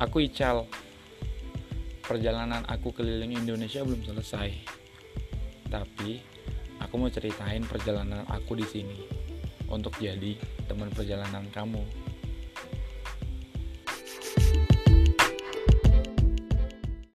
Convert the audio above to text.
Aku Ical. Perjalanan aku keliling Indonesia belum selesai. Tapi aku mau ceritain perjalanan aku di sini untuk jadi teman perjalanan kamu.